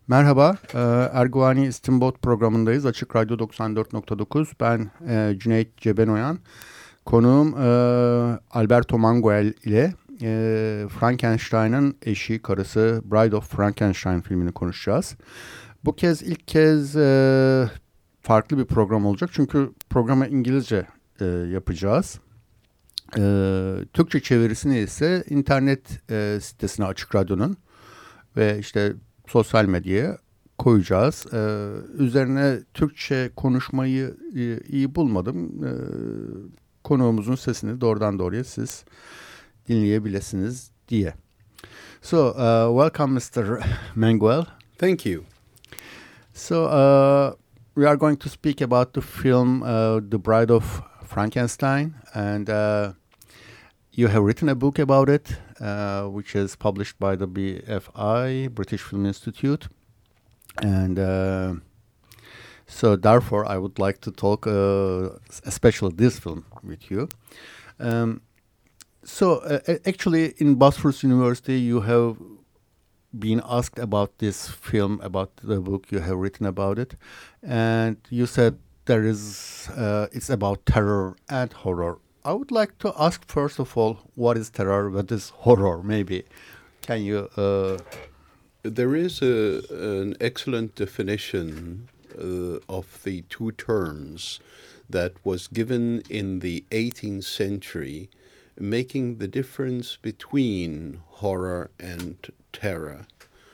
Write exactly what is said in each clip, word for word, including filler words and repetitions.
Merhaba, e, Erguvani İstinbot programındayız. Açık Radyo doksan dört nokta dokuz. Ben e, Cüneyt Cebenoyan. Konuğum e, Alberto Manguel ile e, Frankenstein'ın eşi, karısı Bride of Frankenstein filmini konuşacağız. Bu kez ilk kez e, farklı bir program olacak. Çünkü programı İngilizce e, yapacağız. E, Türkçe çevirisini ise internet e, sitesine Açık Radyo'nun ve işte sosyal medyaya koyacağız. Ee, üzerine Türkçe konuşmayı e, iyi bulmadım. Ee, konuğumuzun sesini doğrudan doğruya siz dinleyebilirsiniz diye. So, uh, welcome mister Manguel. Thank you. So, uh, we are going to speak about the film uh, The Bride of Frankenstein, and uh, you have written a book about it, uh, which is published by the B F I, British Film Institute. And uh, so therefore I would like to talk uh, especially this film with you. Um, so uh, actually in Bosphorus University you have been asked about this film, about the book you have written about it, and you said there is uh, it's about terror and horror. I would like to ask first of all, what is terror, what is horror, maybe? Can you... Uh, There is a, an excellent definition uh, of the two terms that was given in the eighteenth century, making the difference between horror and terror.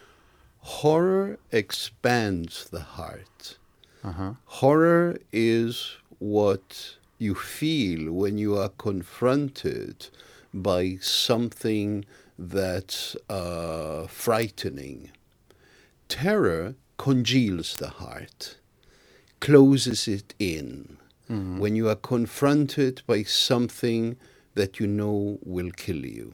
Horror expands the heart. uh-huh. Horror is what you feel when you are confronted by something that's uh, frightening. Terror congeals the heart, closes it in. Mm-hmm. When you are confronted by something that you know will kill you.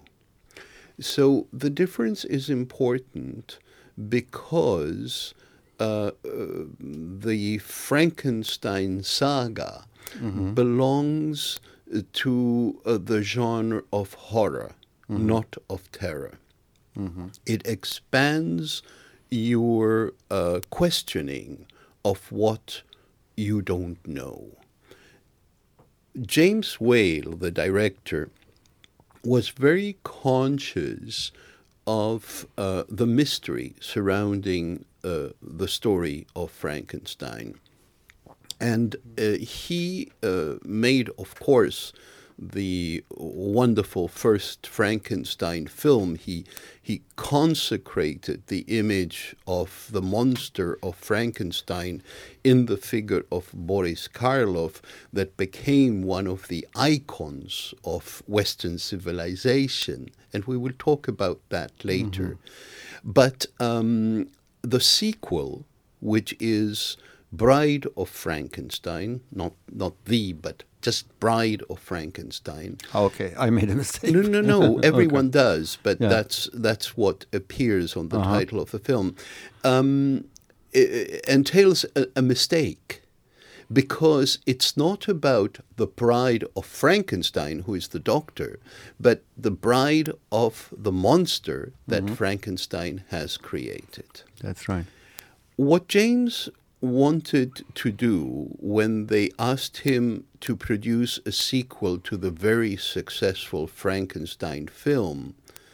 So the difference is important because uh, uh, the Frankenstein saga mm-hmm. belongs to uh, the genre of horror. Mm-hmm. Not of terror. Mm-hmm. It expands your uh, questioning of what you don't know. James Whale, the director, was very conscious of uh, the mystery surrounding uh, the story of Frankenstein. And uh, he uh, made, of course, the wonderful first Frankenstein film. He he consecrated the image of the monster of Frankenstein in the figure of Boris Karloff, that became one of the icons of Western civilization. And we will talk about that later. Mm-hmm. But um, the sequel, which is Bride of Frankenstein, not not the, but just Bride of Frankenstein. Okay, I made a mistake. No, no, no. Everyone okay. does, but yeah. that's that's what appears on the uh-huh. title of the film. Um, it, it entails a, a mistake, because it's not about the bride of Frankenstein, who is the doctor, but the bride of the monster that mm-hmm. Frankenstein has created. That's right. What James wanted to do when they asked him to produce a sequel to the very successful Frankenstein film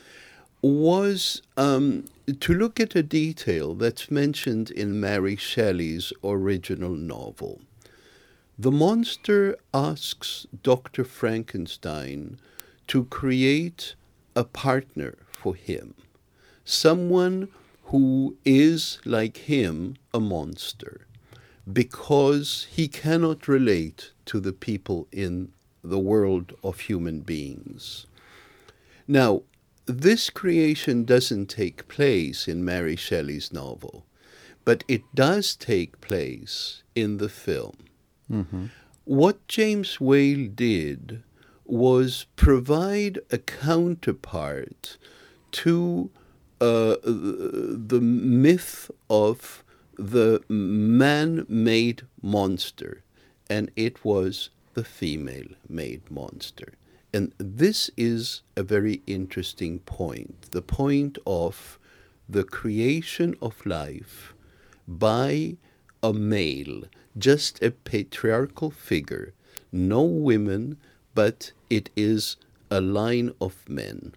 was um, to look at a detail that's mentioned in Mary Shelley's original novel. The monster asks Doctor Frankenstein to create a partner for him, someone who is, like him, a monster, because he cannot relate to the people in the world of human beings. Now, this creation doesn't take place in Mary Shelley's novel, but it does take place in the film. Mm-hmm. What James Whale did was provide a counterpart to Uh, the myth of the man-made monster, and it was the female-made monster. And this is a very interesting point, the point of the creation of life by a male, just a patriarchal figure, no women, but it is a line of men.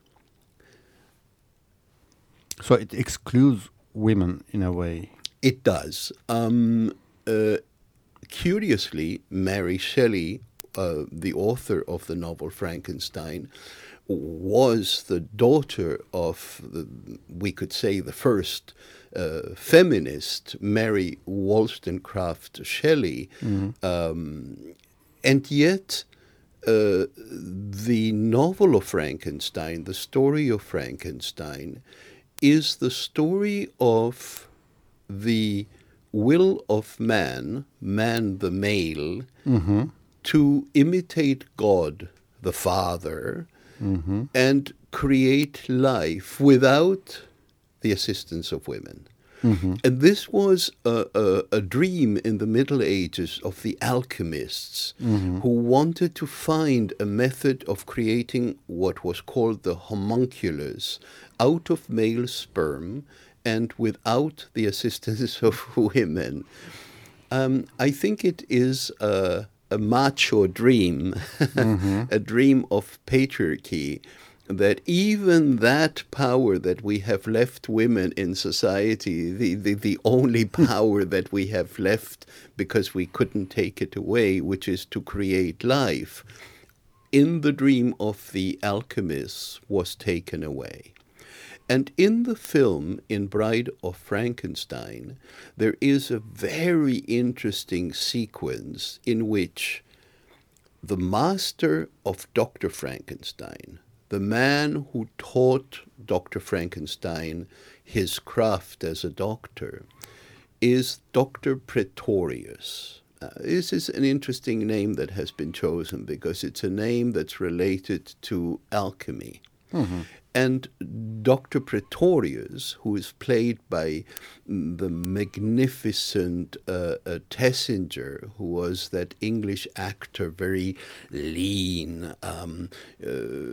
So it excludes women in a way. It does. Um, uh, curiously, Mary Shelley, uh, the author of the novel Frankenstein, was the daughter of, the, we could say, the first uh, feminist, Mary Wollstonecraft Shelley. Mm-hmm. Um, and yet, uh, the novel of Frankenstein, the story of Frankenstein, is the story of the will of man, man the male, mm-hmm. to imitate God the Father, mm-hmm. and create life without the assistance of women. Mm-hmm. And this was a, a, a dream in the Middle Ages of the alchemists, mm-hmm. who wanted to find a method of creating what was called the homunculus out of male sperm and without the assistance of women. Um, I think it is a, a macho dream, mm-hmm. a dream of patriarchy, that even that power that we have left women in society, the, the, the only power that we have left because we couldn't take it away, which is to create life, in the dream of the alchemists was taken away. And in the film, in Bride of Frankenstein, there is a very interesting sequence in which the master of Doctor Frankenstein, the man who taught Doctor Frankenstein his craft as a doctor, is Doctor Pretorius. Uh, this is an interesting name that has been chosen because it's a name that's related to alchemy. Mm-hmm. And Doctor Pretorius, who is played by the magnificent uh, uh, Tessinger, who was that English actor, very lean, um, uh,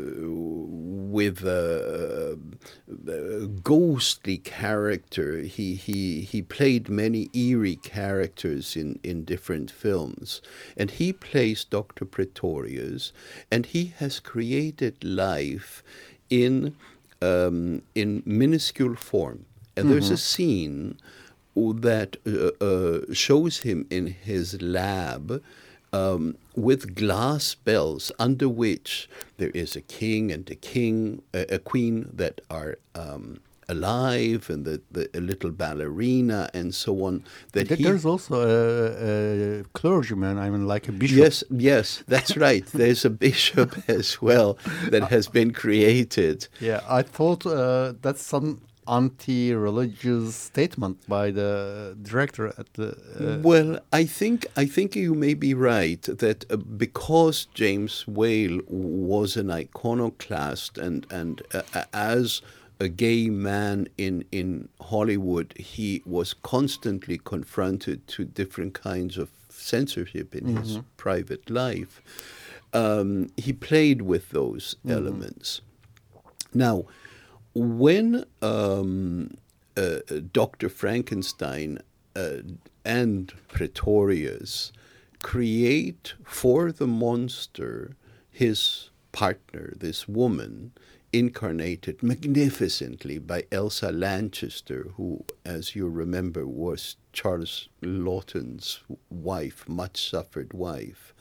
with a, a ghostly character. He he he played many eerie characters in, in different films. And he plays Doctor Pretorius, and he has created life in um, in minuscule form. And mm-hmm. there's a scene that uh, uh, shows him in his lab um, with glass bells under which there is a king and a king, a, a queen that are um, alive, and the, the a little ballerina and so on. That he, there's also a, a clergyman, I mean, like a bishop. Yes, yes, that's right. There's a bishop as well that has been created. Yeah, I thought uh, that's some anti-religious statement by the director at the. Uh, well, I think I think you may be right that uh, because James Whale was an iconoclast and and uh, as a gay man in, in Hollywood, he was constantly confronted to different kinds of censorship in mm-hmm. his private life. Um, he played with those mm-hmm. elements. Now, when um, uh, Doctor Frankenstein uh, and Pretorius create for the monster his partner, this woman, incarnated magnificently by Elsa Lanchester, who, as you remember, was Charles Laughton's wife, much suffered wife.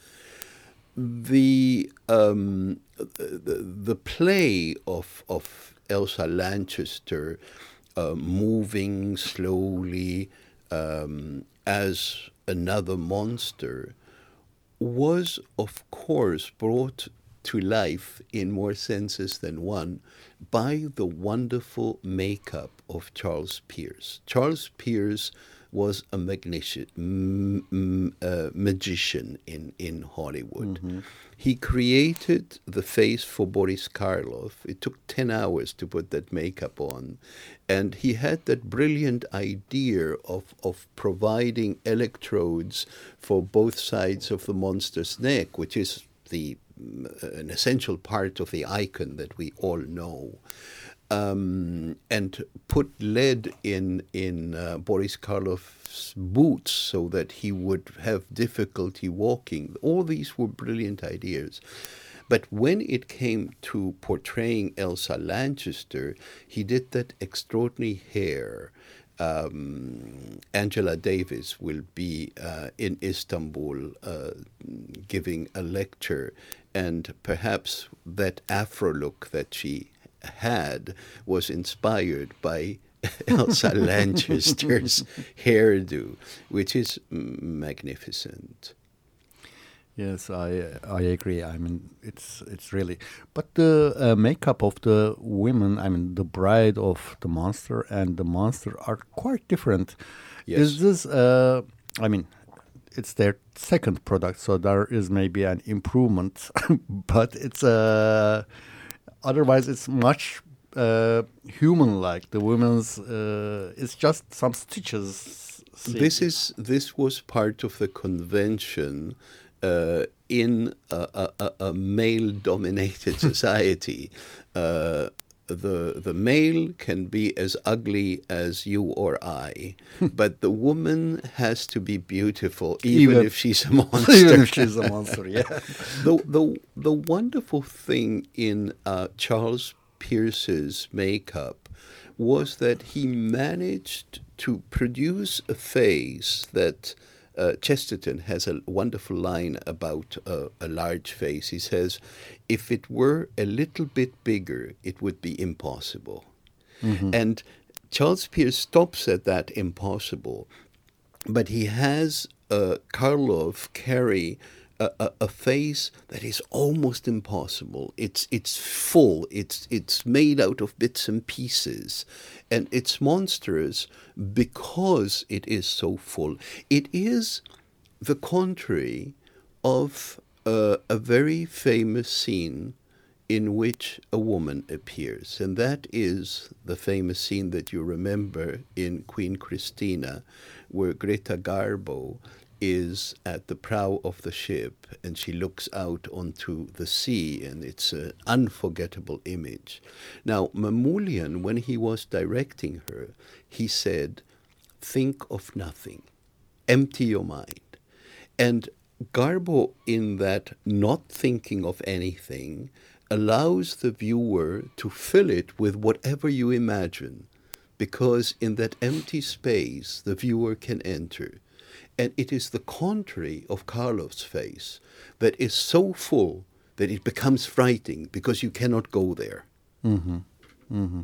The um, the, the play of of Elsa Lanchester uh, moving slowly um, as another monster was, of course, brought to life in more senses than one by the wonderful makeup of Charles Peirce. Charles Peirce was a magnific- m- m- uh, magician in, in Hollywood. Mm-hmm. He created the face for Boris Karloff. It took ten hours to put that makeup on. And he had that brilliant idea of, of providing electrodes for both sides of the monster's neck, which is the an essential part of the icon that we all know. um, and put lead in in uh, Boris Karloff's boots so that he would have difficulty walking. All these were brilliant ideas. But when it came to portraying Elsa Lanchester, he did that extraordinary hair. Um, Angela Davis will be uh, in Istanbul uh, giving a lecture, and perhaps that afro look that she had was inspired by Elsa Lanchester's hairdo, which is magnificent. Yes, I I agree. I mean, it's it's really, but the uh, makeup of the women, I mean, the bride of the monster and the monster are quite different. Yes. Is this? Uh, I mean, it's their second product, so there is maybe an improvement, but it's uh, otherwise it's much uh, human-like. The women's, uh, it's just some stitches. See? This is this was part of the convention. Uh, in a, a, a male-dominated society, uh, the the male can be as ugly as you or I, but the woman has to be beautiful, even, even if she's a monster. Even if she's a monster, yeah. the the the wonderful thing in uh, Charles Pierce's makeup was that he managed to produce a face that. Uh, Chesterton has a wonderful line about uh, a large face. He says, if it were a little bit bigger, it would be impossible. Mm-hmm. And Charles Pierce stops at that impossible, but he has uh, Karloff carry a, a, a face that is almost impossible. It's it's full. It's it's made out of bits and pieces, and it's monstrous because it is so full. It is the contrary of uh, a very famous scene in which a woman appears, and that is the famous scene that you remember in Queen Christina, where Greta Garbo is at the prow of the ship and she looks out onto the sea, and it's an unforgettable image. Now, Mamoulian, when he was directing her, he said, think of nothing, empty your mind. And Garbo, in that not thinking of anything, allows the viewer to fill it with whatever you imagine, because in that empty space the viewer can enter. And it is the contrary of Karloff's face that is so full that it becomes frightening because you cannot go there. Mm-hmm. Mm-hmm.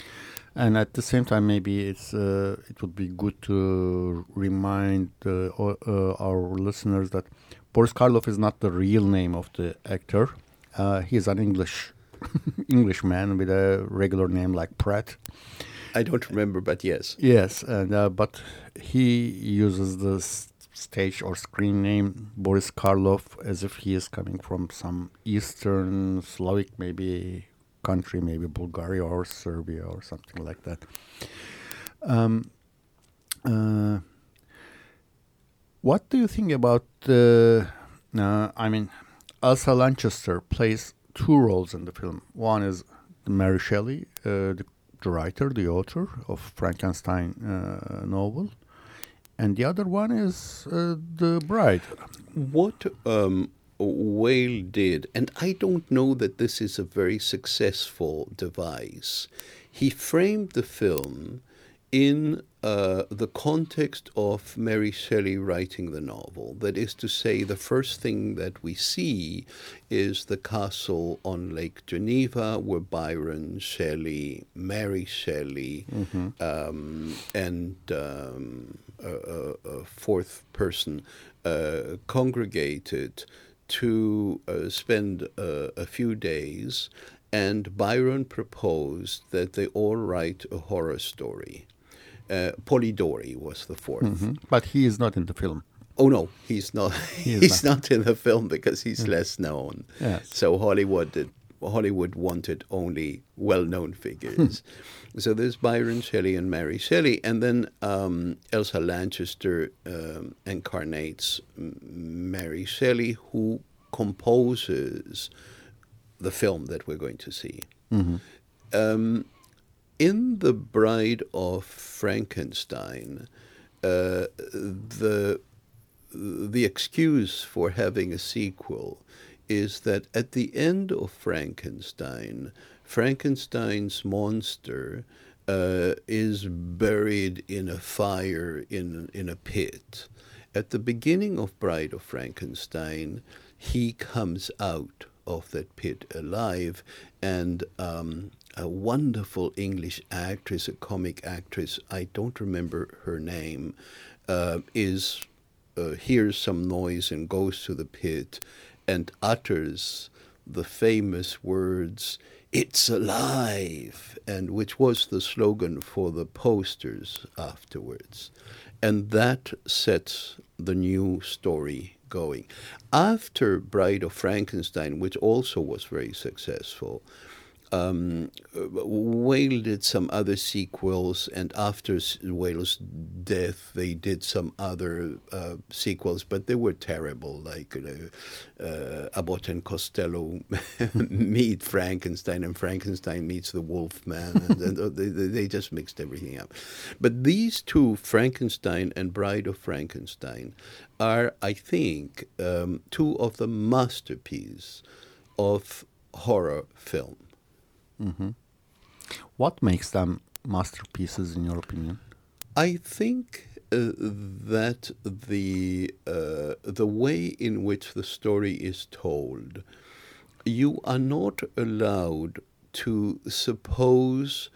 And at the same time, maybe it's uh, it would be good to remind uh, uh, our listeners that Boris Karloff is not the real name of the actor. Uh, he's an English Englishman with a regular name like Pratt. I don't remember, but yes. Yes, and uh, but he uses the s- stage or screen name Boris Karloff as if he is coming from some Eastern Slavic maybe country, maybe Bulgaria or Serbia or something like that. Um, uh, what do you think about, uh, uh, I mean, Elsa Lanchester plays two roles in the film. One is Mary Shelley, uh, the the writer, the author of Frankenstein uh, novel, and the other one is uh, the bride. What um, Whale did, and I don't know that this is a very successful device, he framed the film in uh, the context of Mary Shelley writing the novel. That is to say, the first thing that we see is the castle on Lake Geneva, where Byron Shelley, Mary Shelley, mm-hmm. um, and um, a, a, a fourth person uh, congregated to uh, spend uh, a few days, and Byron proposed that they all write a horror story. Uh, Polidori was the fourth. Mm-hmm. But he is not in the film. Oh, no, he's not. He he's not. not in the film because he's yeah. less known. Yes. So Hollywood did, Hollywood wanted only well-known figures. So there's Byron Shelley and Mary Shelley. And then um, Elsa Lanchester um, incarnates Mary Shelley, who composes the film that we're going to see. Mm-hmm. Um, in The Bride of Frankenstein, uh, the the excuse for having a sequel is that at the end of Frankenstein, Frankenstein's monster uh, is buried in a fire in in a pit. At the beginning of Bride of Frankenstein, he comes out of that pit alive, and um, a wonderful English actress, a comic actress, I don't remember her name, uh, is uh, hears some noise and goes to the pit and utters the famous words, "It's alive," and which was the slogan for the posters afterwards. And that sets the new story going. After Bride of Frankenstein, which also was very successful, um, Whale did some other sequels, and after Whale's death, they did some other uh, sequels, but they were terrible, like uh, uh, Abbott and Costello meet Frankenstein, and Frankenstein meets the Wolfman, and, and they, they just mixed everything up. But these two, Frankenstein and Bride of Frankenstein, are, I think, um, two of the masterpieces of horror film. Mm-hmm. What makes them masterpieces, in your opinion? I think uh, that the uh, the way in which the story is told, you are not allowed to suppose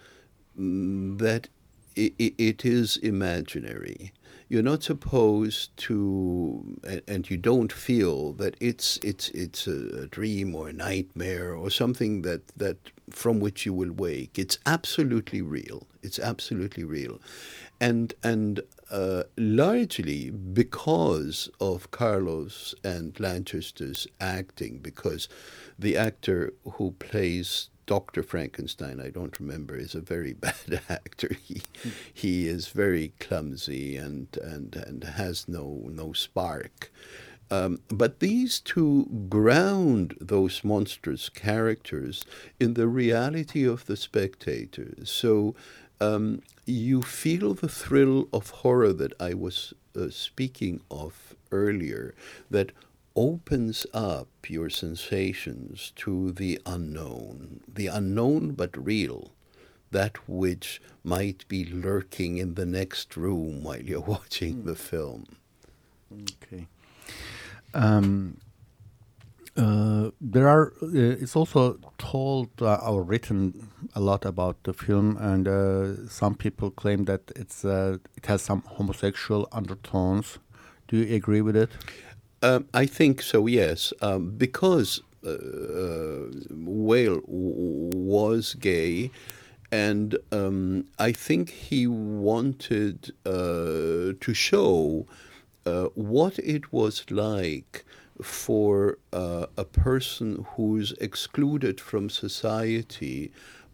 that it, it is imaginary. You're not supposed to, and you don't feel that it's it's it's a dream or a nightmare or something that, that from which you will wake. It's absolutely real. It's absolutely real, and and uh, largely because of Carlos and Lanchester's acting, because the actor who plays Doctor Frankenstein, I don't remember, is a very bad actor. He mm. he is very clumsy and and, and has no no spark. Um, but these two ground those monstrous characters in the reality of the spectator. So um, you feel the thrill of horror that I was uh, speaking of earlier, that opens up your sensations to the unknown, the unknown but real, that which might be lurking in the next room while you're watching mm. the film. Okay. Um, uh, there are. Uh, it's also told uh, or written a lot about the film, and uh, some people claim that it's uh, it has some homosexual undertones. Do you agree with it? Um, I think so, yes, um, because uh, uh, Whale w- was gay, and um, I think he wanted uh, to show uh, what it was like for uh, a person who's excluded from society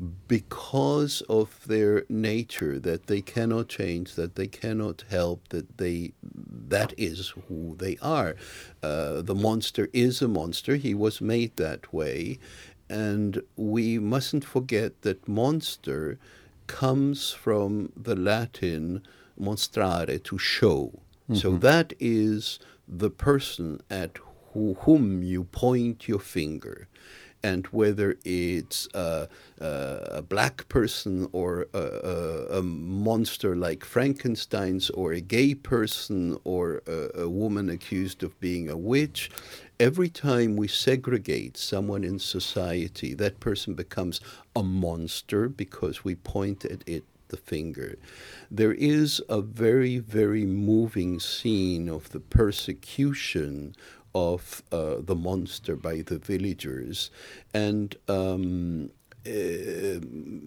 because of their nature, that they cannot change, that they cannot help, that they that is who they are. Uh, the monster is a monster. He was made that way. And we mustn't forget that monster comes from the Latin monstrare, to show. Mm-hmm. So that is the person at who, whom you point your finger. And whether it's uh, uh, a black person or a, a, a monster like Frankenstein's, or a gay person, or a, a woman accused of being a witch, every time we segregate someone in society, that person becomes a monster because we point at it the finger. There is a very, very moving scene of the persecution of uh, the monster by the villagers. And um, uh,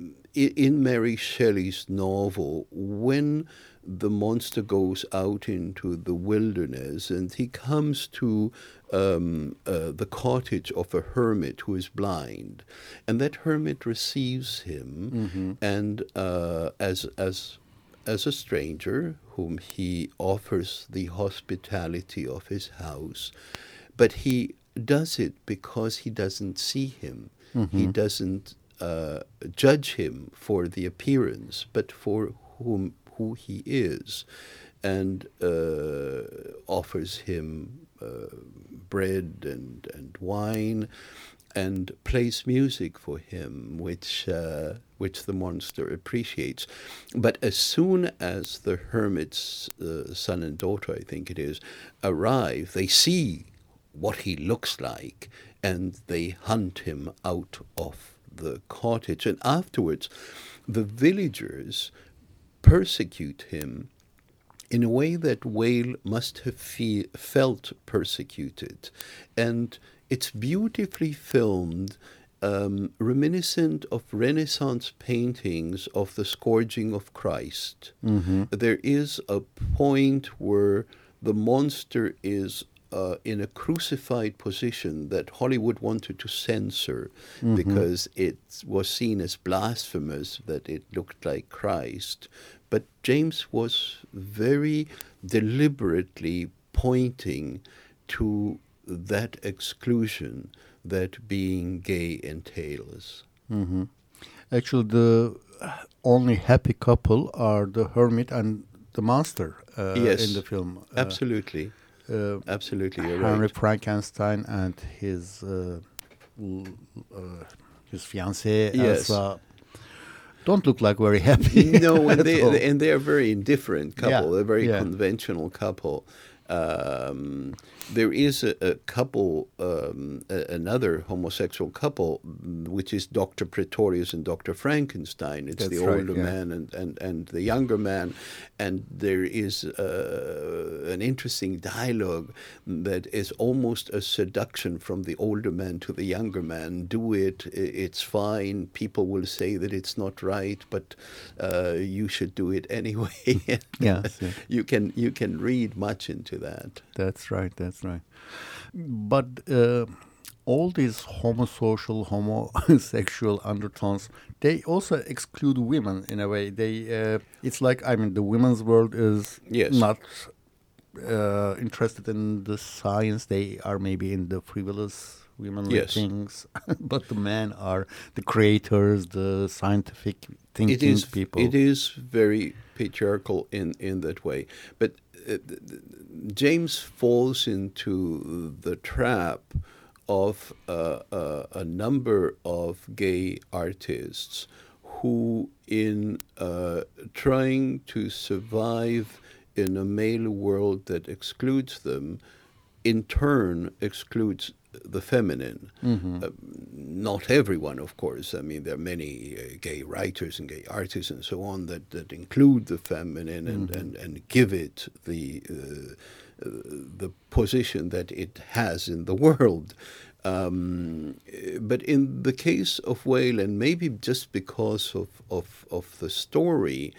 in Mary Shelley's novel, when the monster goes out into the wilderness and he comes to um, uh, the cottage of a hermit who is blind, and that hermit receives him mm-hmm. and uh, as as as a stranger whom he offers the hospitality of his house, but he does it because he doesn't see him. Mm-hmm. He doesn't uh, judge him for the appearance, but for whom who he is, and uh, offers him uh, bread and, and wine, and plays music for him, which uh, which the monster appreciates. But as soon as the hermit's uh, son and daughter, I think it is, arrive, they see what he looks like, and they hunt him out of the cottage. And afterwards, the villagers persecute him in a way that Whale must have fe- felt persecuted. And it's beautifully filmed, um, reminiscent of Renaissance paintings of the scourging of Christ. Mm-hmm. There is a point where the monster is uh, in a crucified position that Hollywood wanted to censor Mm-hmm. because it was seen as blasphemous that it looked like Christ. But James was very deliberately pointing to that exclusion that being gay entails. Mm-hmm. Actually, the only happy couple are the hermit and the monster uh, Yes, in the film. Uh, Absolutely. uh, Absolutely, you're Henry right. Frankenstein and his uh, l- uh, his fiancée Yes. Elsa don't look like very happy. No, and at they, all. and they're a very indifferent couple. Yeah, They're a very yeah. conventional couple. Um, there is a, a couple, um, a, another homosexual couple, mm, which is Doctor Pretorius and Doctor Frankenstein. It's That's the right, older yeah. man and, and, and the younger man. And there is uh, an interesting dialogue that is almost a seduction from the older man to the younger man. Do it, i- it's fine. People will say that it's not right, but uh, you should do it anyway. Yes, yes. You can you can read much into that. That's right, that's right. But uh, all these homosocial, homosexual undertones, they also exclude women in a way. They, uh, it's like, I mean, the women's world is Yes. not uh, interested in the science. They are maybe in the frivolous womenly Yes. things. But the men are the creators, the scientific thinking It is people. it is very patriarchal in, in that way. But uh, th- th- James falls into the trap of uh, uh, a number of gay artists who, in uh, trying to survive in a male world that excludes them, in turn excludes the feminine. Mhm. Uh, not everyone, of course. I mean, there are many uh, gay writers and gay artists and so on that, that include the feminine and, and, and give it the uh, uh, the position that it has in the world. Um, but in the case of Whale, and maybe just because of, of, of the story,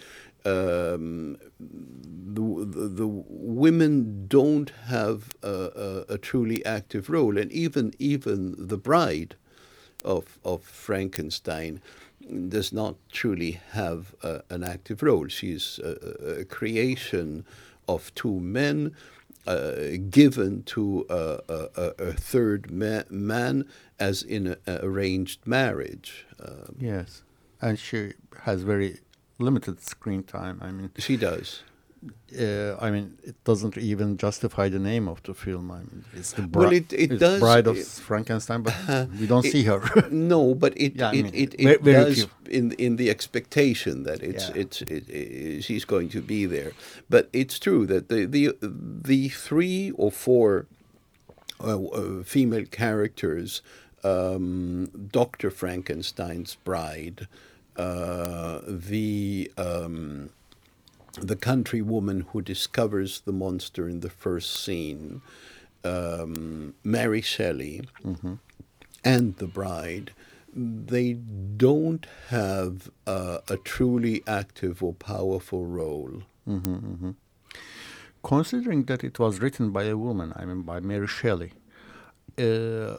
um, the, the, the women don't have a, a, a truly active role, and even even the bride of of Frankenstein does not truly have a, an active role. She's a, a creation of two men uh, given to a, a, a third ma- man as in an arranged marriage. Um, Yes. And she has very limited screen time. I mean, she does. uh, I mean, it doesn't even justify the name of the film. I mean, it's the Well, it- it it's does- Bride of it- Frankenstein, but we don't it- see her. No, but it Yeah, I it, mean, it, it ve- very does few. in in the expectation that it's Yeah. it's it, it, she's going to be there. But it's true that the the the three or four uh, uh, female characters, um, Doctor Frankenstein's bride, uh, the um, the country woman who discovers the monster in the first scene, um, Mary Shelley, and the bride, they don't have uh, a truly active or powerful role. Considering that it was written by a woman, I mean, by Mary Shelley, uh,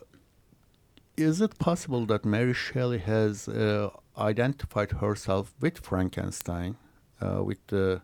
is it possible that Mary Shelley has uh, identified herself with Frankenstein, uh, with the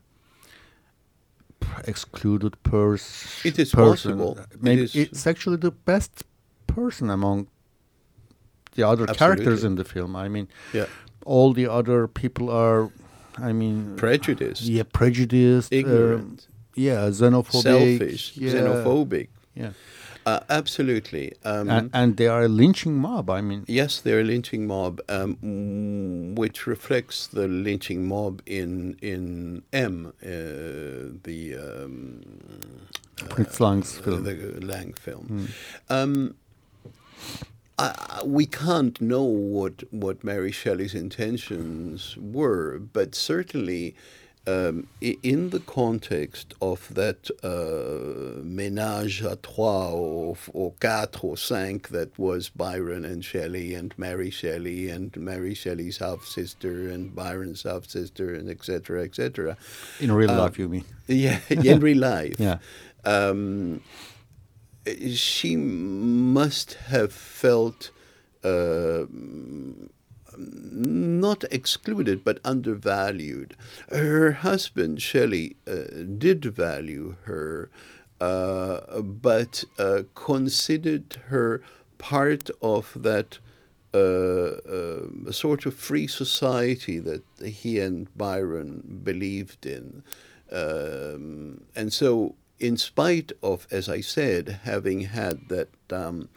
excluded pers- It is person? possible. It Maybe is- it's actually the best person among the other Absolutely. characters in the film. I mean, Yeah. all the other people are, I mean, Prejudiced. Yeah, prejudiced, Ignorant. um, yeah, xenophobic, Selfish. yeah, Xenophobic. yeah, Uh, absolutely. Um, and, and they are a lynching mob. I mean, Yes, they're a lynching mob, um, mm, which reflects the lynching mob in in M, uh, the um, Fritz Lang's uh, film. the Lang film. Um, I, I- we can't know what what Mary Shelley's intentions were, but certainly. Um, i- in the context of that uh, ménage à trois or, or quatre or cinq that was Byron and Shelley and Mary Shelley and Mary Shelley's half-sister and Byron's half-sister and et cetera, et cetera. In real um, life, you mean? Yeah, in real life. Yeah. Um, she must have felt uh, not excluded, but undervalued. Her husband, Shelley, uh, did value her, uh, but uh, considered her part of that uh, uh, sort of free society that he and Byron believed in. Um, and so, in spite of, as I said, having had that um,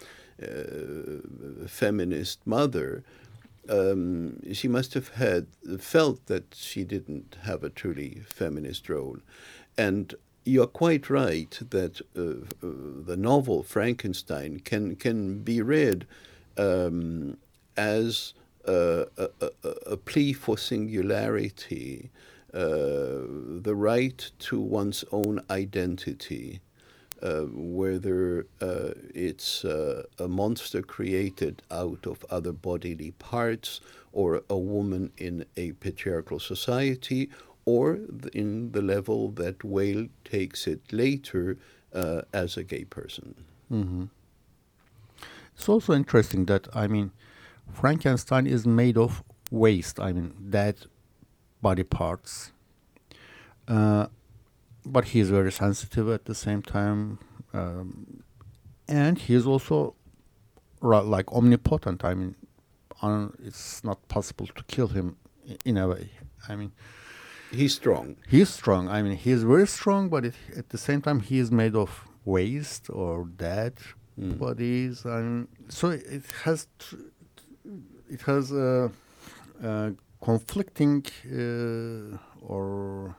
uh, feminist mother, Um, she must have had felt that she didn't have a truly feminist role. And you're quite right that uh, uh, the novel Frankenstein can can be read um, as a, a, a, a plea for singularity, uh, the right to one's own identity. Uh, whether uh, it's uh, a monster created out of other bodily parts, or a woman in a patriarchal society, or th- in the level that Whale takes it later uh, as a gay person. Mm-hmm. It's also interesting that, I mean, Frankenstein is made of waste, I mean, dead body parts. Uh, But he is very sensitive at the same time, um, and he is also ra- like omnipotent. I mean, un- it's not possible to kill him i- in a way. I mean, He's strong. he's strong. I mean, he is very strong, but it, at the same time, he is made of waste or dead Mm. bodies. And so it has tr- it has uh, uh, conflicting uh, or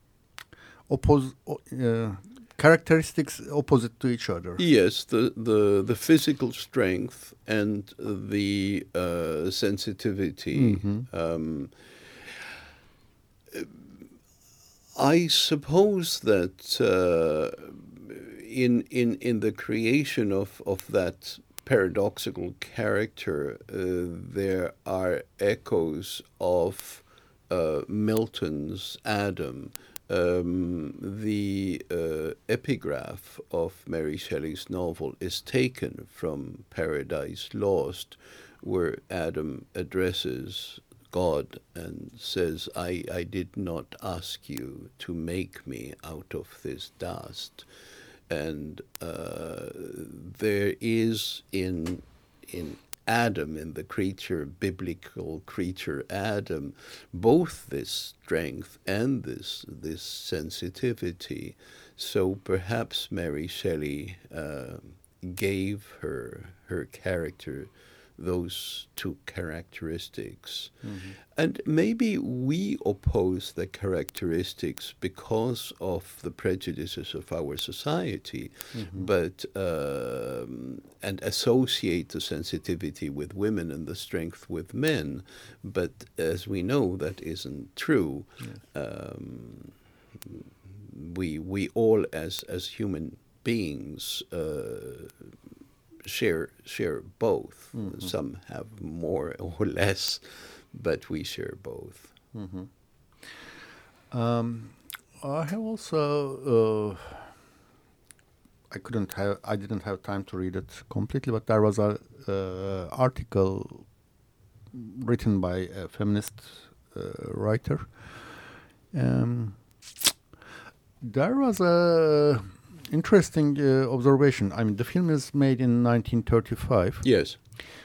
oppose uh, characteristics opposite to each other. Yes, the, the, the physical strength and the uh, sensitivity. Mhm. Um, I suppose that uh, in in in the creation of of that paradoxical character, uh, there are echoes of uh, Milton's Adam. Um, the uh, epigraph of Mary Shelley's novel is taken from Paradise Lost, where Adam addresses God and says, I, I did not ask you to make me out of this dust. And uh, there is in in Adam, in the creature, biblical creature Adam, both this strength and this this sensitivity. So perhaps Mary Shelley uh, gave her her character those two characteristics. Mm-hmm. And maybe we oppose the characteristics because of the prejudices of our society, Mm-hmm. but um, and associate the sensitivity with women and the strength with men. But as we know, that isn't true. Yes. Um, we we all, as as human beings, uh, share share both. Mhm. Some have more or less, but we share both. Mm-hmm. Um, I have also. Uh, I couldn't have. I didn't have time to read it completely, but there was a uh, article written by a feminist uh, writer. Um, there was a interesting uh, observation. I mean, the film is made in nineteen thirty-five. Yes.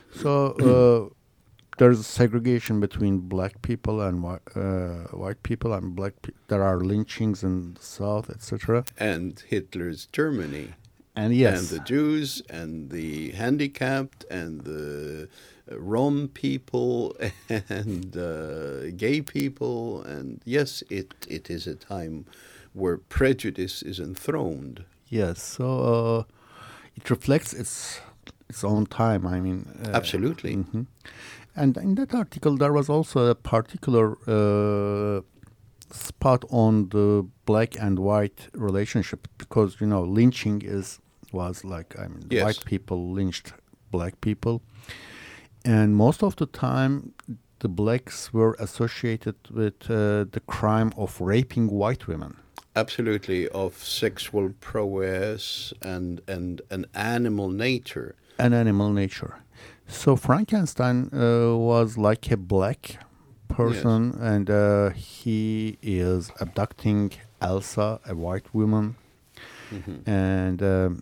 So uh, there's segregation between black people and whi- uh, white people, and black. Pe- there are lynchings in the South, et cetera. And Hitler's Germany. And yes, And the Jews, and the handicapped, and the uh, Rom people, and uh, gay people. And yes, it, it is a time where prejudice is enthroned. yes. So uh, it reflects its its own time. I mean, uh, Absolutely. mhm. And in that article, there was also a particular uh, spot on the black and white relationship, because you know lynching is was like, I mean, Yes. white people lynched black people, and most of the time the blacks were associated with uh, the crime of raping white women. Absolutely, of sexual prowess and, and an animal nature. An animal nature. So Frankenstein uh, was like a black person, Yes. and uh, he is abducting Elsa, a white woman. Mhm. And um,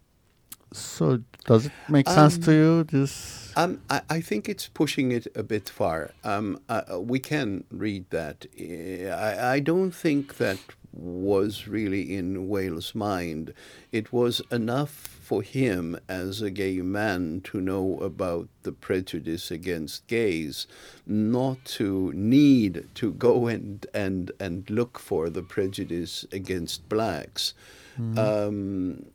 so, does it make sense to Um, you? This, Um, I, I think it's pushing it a bit far. Um, uh, uh, we can read that. Eh, I, I don't think that was really in Whale's mind. It was enough for him as a gay man to know about the prejudice against gays, not to need to go and, and, and look for the prejudice against blacks. Um,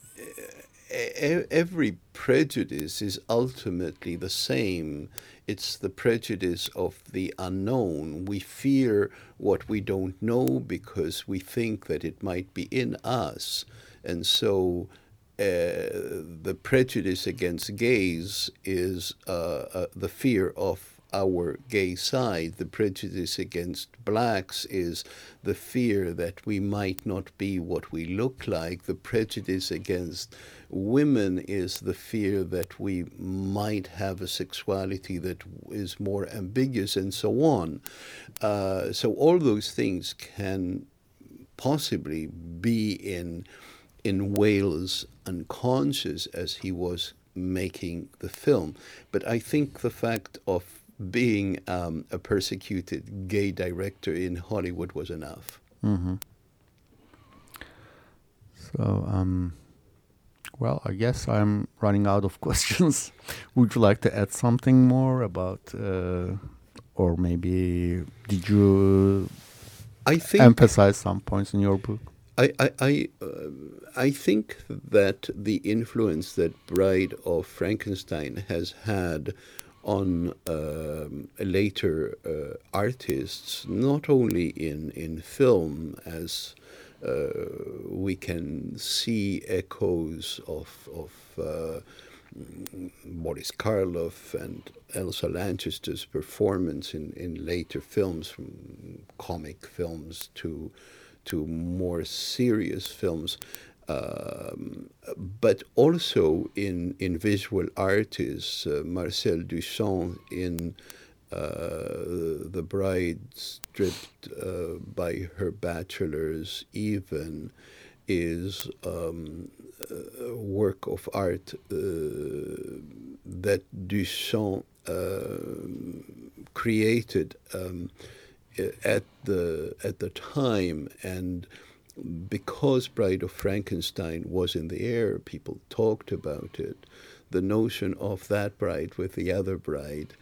e- every prejudice is ultimately the same. It's the prejudice of the unknown. We fear what we don't know because we think that it might be in us. And so uh, the prejudice against gays is uh, uh, the fear of our gay side. The prejudice against blacks is the fear that we might not be what we look like. The prejudice against women is the fear that we might have a sexuality that is more ambiguous, and so on. Uh, so all those things can possibly be in in Whale's unconscious as he was making the film. But I think the fact of being um, a persecuted gay director in Hollywood was enough. hmm So, um, well, I guess I'm running out of questions. Would you like to add something more about, uh, or maybe did you I think emphasize some points in your book? I I I, uh, I think that the influence that Bride of Frankenstein has had on um, later uh, artists, not only in in film, as uh, we can see echoes of of uh, Boris Karloff and Elsa Lanchester's performance in, in later films, from comic films to to more serious films, um, but also in in visual artists. Uh, Marcel Duchamp in uh, The Bride Stripped uh, by Her Bachelors even is um, a work of art uh, that Duchamp uh, created um, at the at the time. And because Bride of Frankenstein was in the air, people talked about it. The notion of that bride with the other bride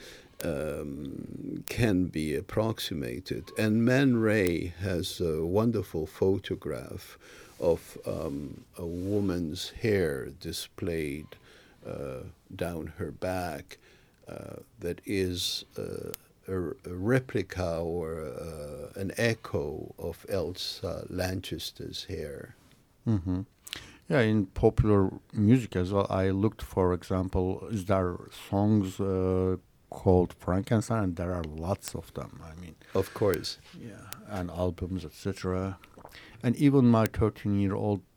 um, can be approximated. And Man Ray has a wonderful photograph of um, a woman's hair displayed uh, down her back uh, that is uh, a, a replica or uh, an echo of Elsa Lanchester's hair. hmm Yeah, in popular music as well, I looked, for example, is there songs uh, called Frankenstein? And there are lots of them. I mean, Of course. yeah, and albums, et cetera. And even my thirteen-year-old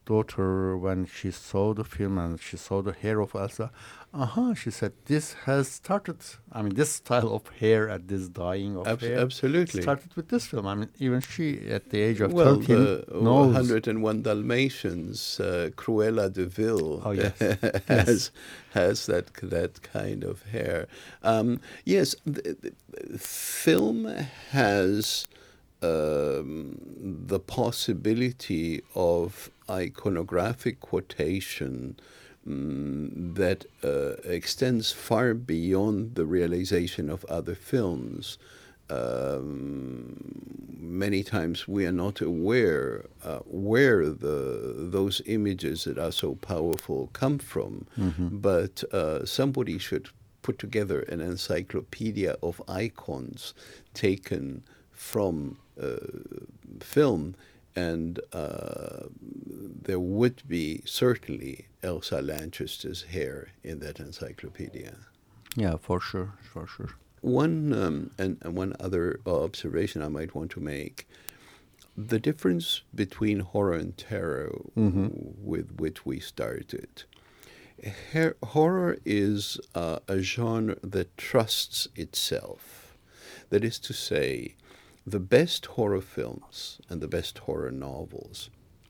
daughter, when she saw the film and she saw the hair of Elsa, uh-huh, she said, this has started, I mean, this style of hair and this dyeing of Abs- hair absolutely started with this film. I mean, even she, at the age of well, thirteen, the knows. one hundred and one Dalmatians, uh, Cruella de Vil, Oh, yes. has, Yes. has that that kind of hair. Um, yes, the, the film has um, the possibility of iconographic quotation mm, that uh, extends far beyond the realization of other films. Um, many times we are not aware uh, where the those images that are so powerful come from, Mm-hmm. but uh, somebody should put together an encyclopedia of icons taken from uh, film, and uh, there would be certainly Elsa Lanchester's hair in that encyclopedia. Yeah, for sure, for sure. One um, and, and one other observation I might want to make: the difference between horror and terror, Mm-hmm. with which we started. Her- horror is uh, a genre that trusts itself. That is to say, the best horror films and the best horror novels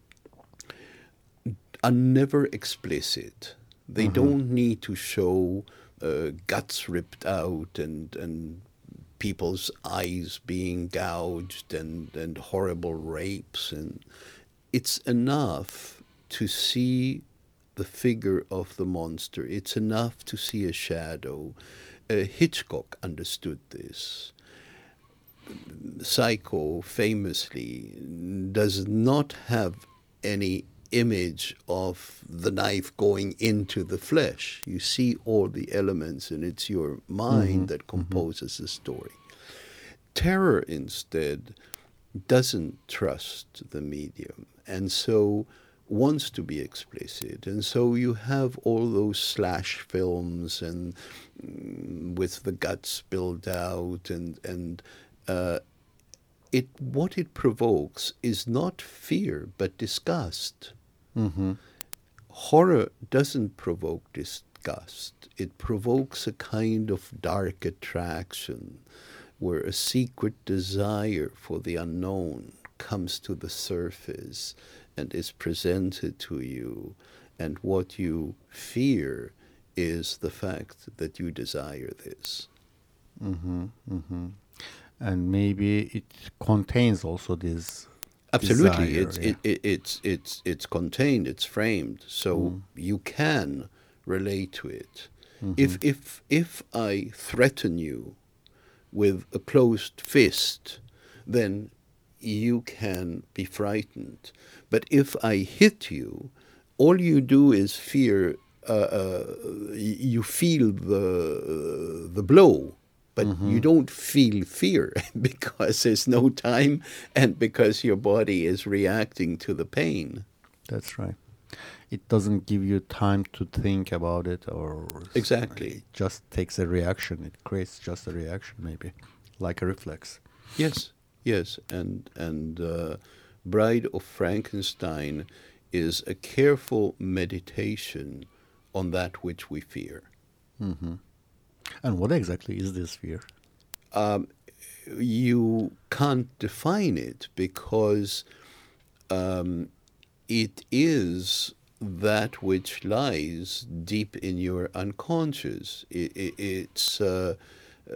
are never explicit. They Mhm. don't need to show uh, guts ripped out and and people's eyes being gouged and, and horrible rapes. And it's enough to see the figure of the monster. It's enough to see a shadow. Uh, Hitchcock understood this. Psycho famously does not have any image of the knife going into the flesh. You see all the elements, and it's your mind Mhm, that composes the story. Terror, instead, doesn't trust the medium, and so wants to be explicit. And so you have all those slash films and mm, with the guts spilled out, and and uh, it what it provokes is not fear but disgust. Mm-hmm. Horror doesn't provoke disgust. It provokes a kind of dark attraction where a secret desire for the unknown comes to the surface and is presented to you. And what you fear is the fact that you desire this. Mm-hmm. Mm-hmm. And maybe it contains also this Absolutely, desire, it's yeah. it, it, it's it's it's contained, it's framed, so Mm. you can relate to it. Mhm. If if if I threaten you with a closed fist, then you can be frightened. But if I hit you, all you do is fear. Uh, uh, y- you feel the the blow, but you don't feel fear because there's no time and because your body is reacting to the pain. That's right. It doesn't give you time to think about it, or Exactly. it just takes a reaction. It creates just a reaction, maybe, like a reflex. Yes, yes, and and uh, Bride of Frankenstein is a careful meditation on that which we fear. Mm-hmm. And what exactly is this fear? Um, you can't define it because um, it is that which lies deep in your unconscious. It, it, it's uh, uh,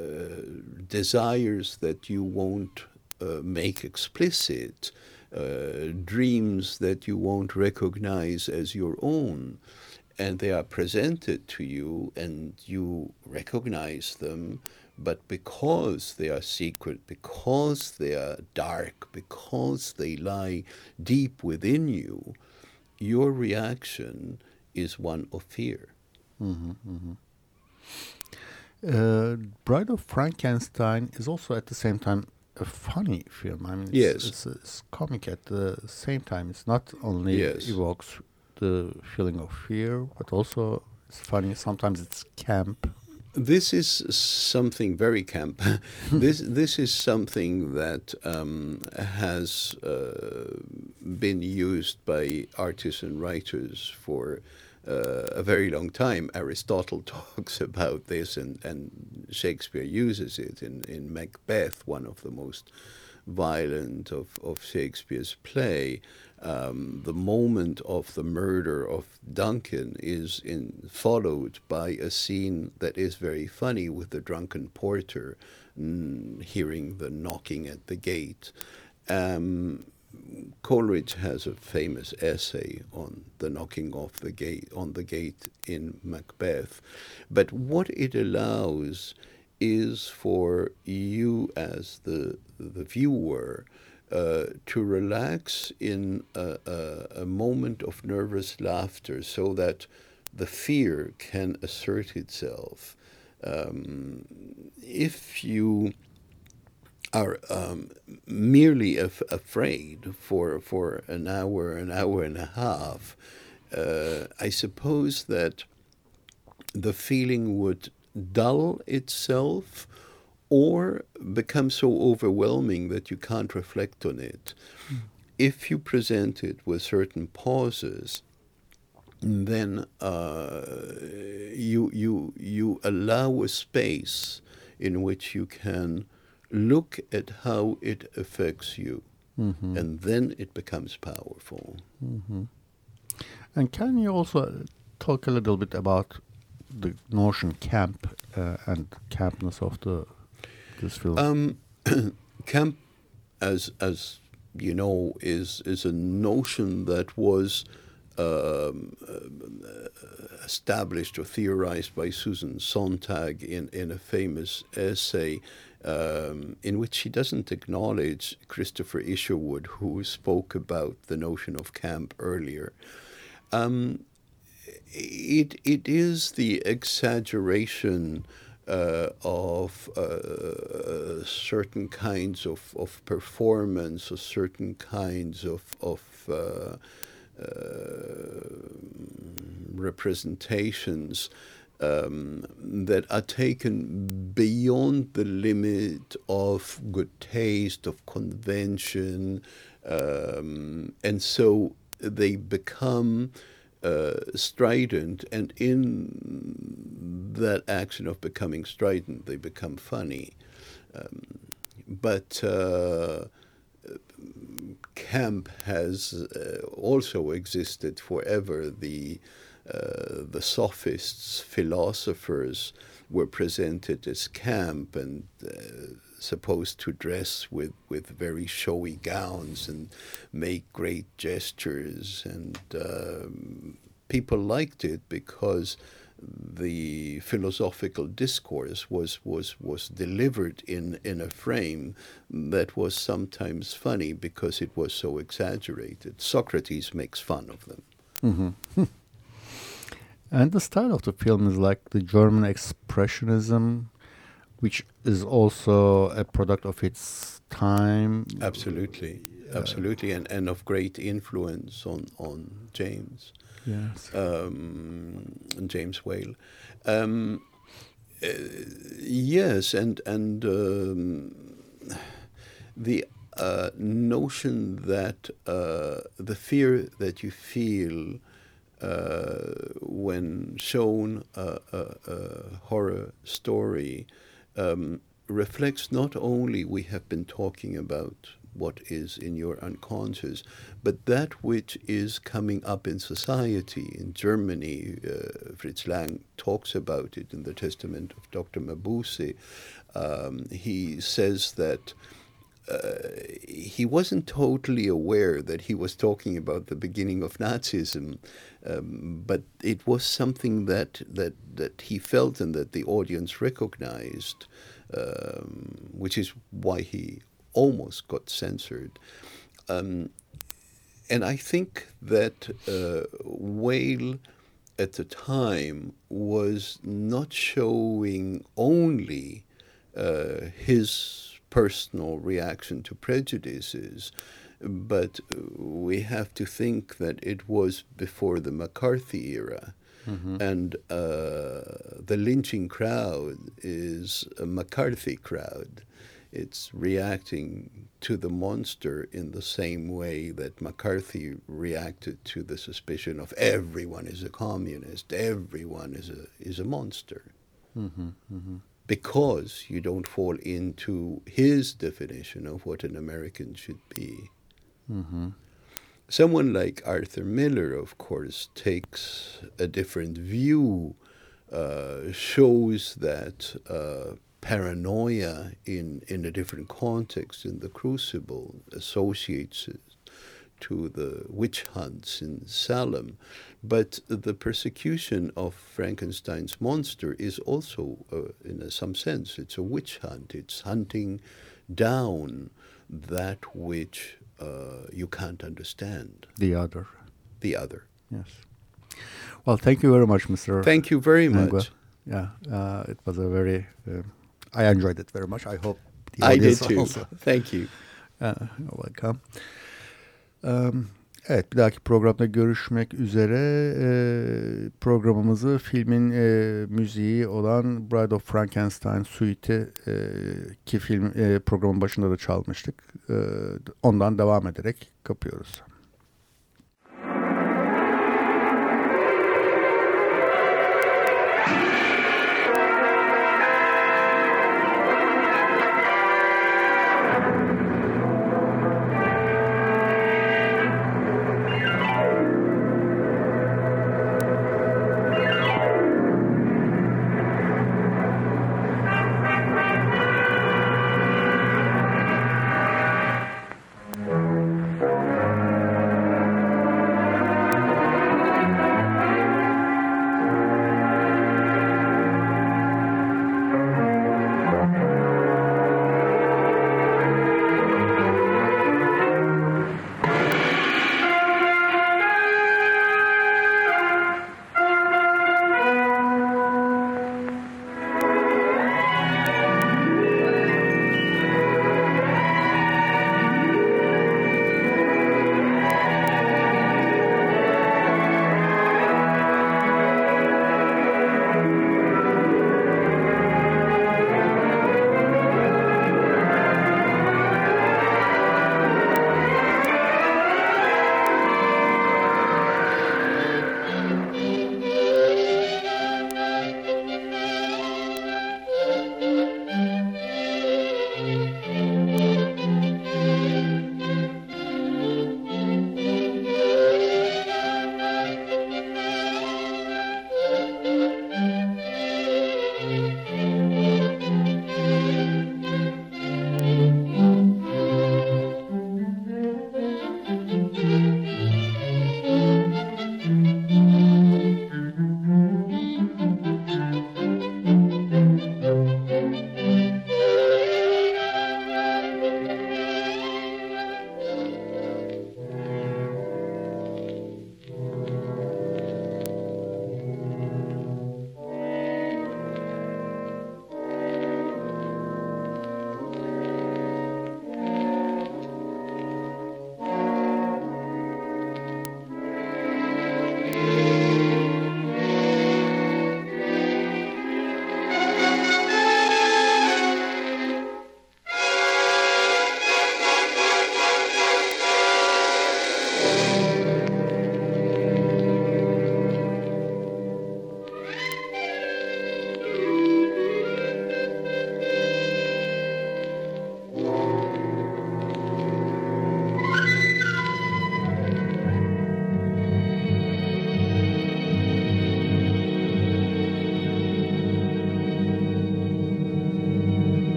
desires that you won't uh, make explicit, uh, dreams that you won't recognize as your own. And they are presented to you, and you recognize them, but because they are secret, because they are dark, because they lie deep within you, your reaction is one of fear. Mm-hmm, mm-hmm. Uh, Bride of Frankenstein is also at the same time a funny film. I mean, it's, Yes. it's, it's comic at the same time. It's not only Yes. evokes the feeling of fear, but also it's funny. Sometimes it's camp. This is something very camp. this this is something that um, has uh, been used by artists and writers for uh, a very long time. Aristotle talks about this, and, and Shakespeare uses it in, in Macbeth, one of the most violent of, of Shakespeare's play. Um, the moment of the murder of Duncan is in, followed by a scene that is very funny with the drunken porter mm, hearing the knocking at the gate. Um, Coleridge has a famous essay on the knocking off the gate on the gate in Macbeth, but what it allows is for you as the the viewer uh, to relax in a, a, a moment of nervous laughter, so that the fear can assert itself. Um, if you are um, merely af- afraid for for an hour, an hour and a half, uh, I suppose that the feeling would dull itself or become so overwhelming that you can't reflect on it. Mm. If you present it with certain pauses, then uh, you you you allow a space in which you can look at how it affects you, mm-hmm. and then it becomes powerful. Mm-hmm. And can you also talk a little bit about the notion camp uh, and campness of the this film? Um, camp, as as you know, is is a notion that was um, uh, established or theorized by Susan Sontag in in a famous essay, um, in which she doesn't acknowledge Christopher Isherwood, who spoke about the notion of camp earlier. Um, it it is the exaggeration uh, of uh, certain kinds of, of performance, or certain kinds of of uh, uh, representations um, that are taken beyond the limit of good taste, of convention, um, and so they become Uh, strident, and in that action of becoming strident, they become funny. Um, but uh, camp has uh, also existed forever. The uh, the sophists, philosophers, were presented as camp and uh, supposed to dress with, with very showy gowns and make great gestures, and um, people liked it because the philosophical discourse was was was delivered in in a frame that was sometimes funny because it was so exaggerated. Socrates makes fun of them. Mm-hmm. And the style of the film is like the German expressionism, which is also a product of its time. Absolutely, absolutely, and, and of great influence on, on James. Yes. Um, James Whale. Um, uh, yes, and and um, the uh, notion that uh, the fear that you feel uh, when shown a, a, a horror story Um, reflects not only, we have been talking about what is in your unconscious, but that which is coming up in society. In Germany, uh, Fritz Lang talks about it in the Testament of Doctor Mabuse. Um, he says that uh, he wasn't totally aware that he was talking about the beginning of Nazism, um, but it was something that, that, that he felt and that the audience recognized, um, which is why he almost got censored. Um, and I think that uh, Whale at the time was not showing only uh, his personal reaction to prejudices, but we have to think that it was before the McCarthy era. Mm-hmm. And uh, the lynching crowd is a McCarthy crowd. It's reacting to the monster in the same way that McCarthy reacted to the suspicion of everyone is a communist, everyone is a is a monster. Mm-hmm, mm-hmm. Because you don't fall into his definition of what an American should be. Mm-hmm. Someone like Arthur Miller, of course, takes a different view, uh, shows that uh, paranoia in, in a different context in The Crucible, associates it to the witch hunts in Salem. But the persecution of Frankenstein's monster is also, uh, in a, some sense, it's a witch hunt. It's hunting down that which uh, you can't understand. The other. The other. Yes. Well, thank you very much, Mister Thank you very much. Mangua. Yeah, uh, it was a very, uh, I enjoyed it very much. I hope the I did audience too. also. Thank you. Uh, you're welcome. Um, evet, bir dahaki programda görüşmek üzere. Ee, programımızı filmin e, müziği olan Bride of Frankenstein Suite'i e, ki film e, programın başında da çalmıştık. E, ondan devam ederek kapıyoruz.